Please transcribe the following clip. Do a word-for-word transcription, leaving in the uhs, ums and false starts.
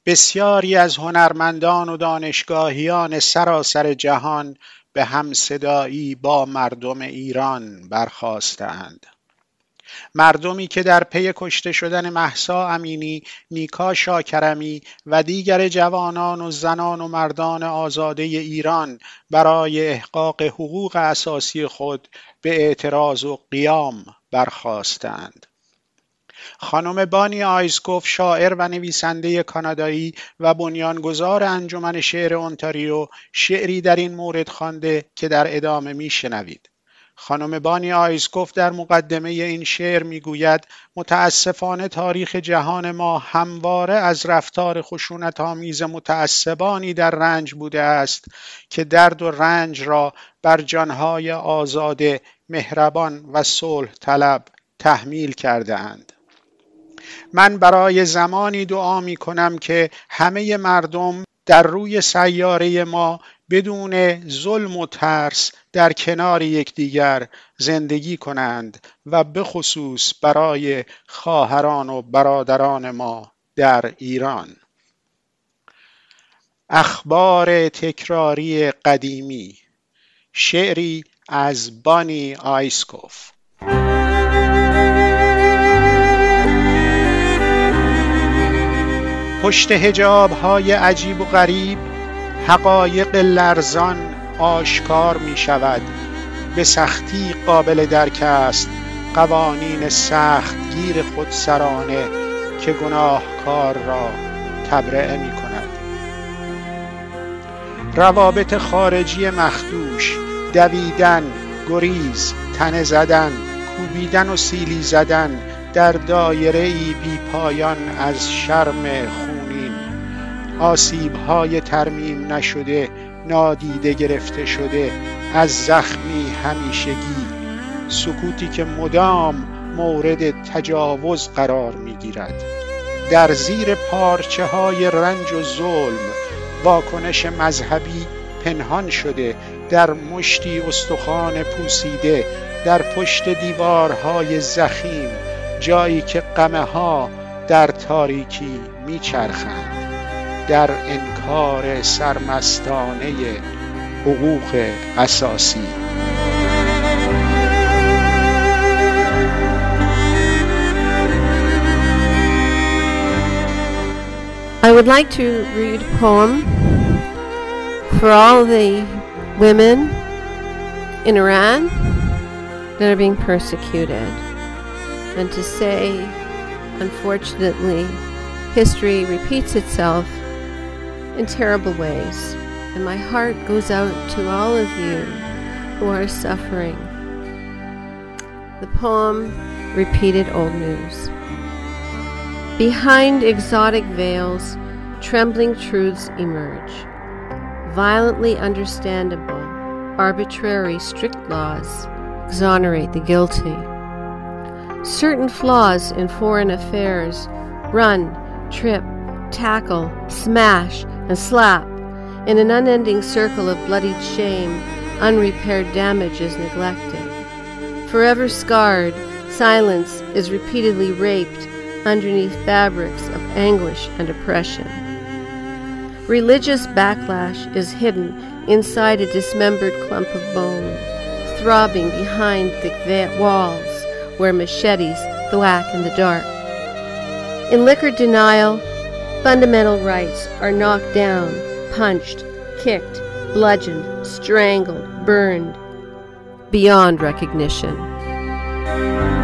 بسیاری از هنرمندان و دانشگاهیان سراسر جهان به همصدایی با مردم ایران برخاستند. مردمی که در پی کشته شدن مهسا امینی، نیکا شاکرمی و دیگر جوانان و زنان و مردان آزاده ایران برای احقاق حقوق اساسی خود به اعتراض و قیام برخاستند. خانم بانی آیزکوف، شاعر و نویسنده کانادایی و بنیانگذار انجمن شعر اونتاریو، شعری در این مورد خوانده که در ادامه میشنوید. خانم بانی آیزکوف در مقدمه این شعر میگوید: متاسفانه تاریخ جهان ما همواره از رفتار خشونت‌آمیز متعصبانی در رنج بوده است که درد و رنج را بر جانهای آزاده، مهربان و صلح طلب تحمیل کرده اند. من برای زمانی دعا می کنم که همه مردم در روی سیاره ما بدون ظلم و ترس در کنار یکدیگر زندگی کنند و به خصوص برای خواهران و برادران ما در ایران. اخبار تکراری قدیمی، شعری از بانی آیزکوف. پشت حجاب‌های عجیب و غریب حقایق لرزان آشکار می شود. به سختی قابل درک است قوانین سخت گیر خودسرانه که گناهکار را تبرئه می کند. روابط خارجی مخدوش، دویدن، گریز، تنه زدن، کوبیدن و سیلی زدن در دایره‌ای بی پایان از شرم خونین، آسیب‌های ترمیم نشده، نادیده گرفته شده از زخمی همیشگی، سکوتی که مدام مورد تجاوز قرار می‌گیرد. در زیر پارچه‌های رنج و ظلم واکنش مذهبی پنهان شده، در مشتی استخوان پوسیده، در پشت دیوارهای ضخیم، جایی که غمه‌ها در تاریکی میچرخند، در انکار سرمستانه حقوق اساسی. I would like to read a poem for all the women in Iran that are being persecuted, and to say, unfortunately, history repeats itself in terrible ways, and my heart goes out to all of you who are suffering. The poem, Repeated Old News. Behind exotic veils, trembling truths emerge. Violently understandable, arbitrary, strict laws exonerate the guilty. Certain flaws in foreign affairs run, trip, tackle, smash, and slap. In an unending circle of bloodied shame, unrepaired damage is neglected. Forever scarred, silence is repeatedly raped underneath fabrics of anguish and oppression. Religious backlash is hidden inside a dismembered clump of bone, throbbing behind thick walls where machetes thwack in the dark. In liquor denial, fundamental rights are knocked down, punched, kicked, bludgeoned, strangled, burned, beyond recognition.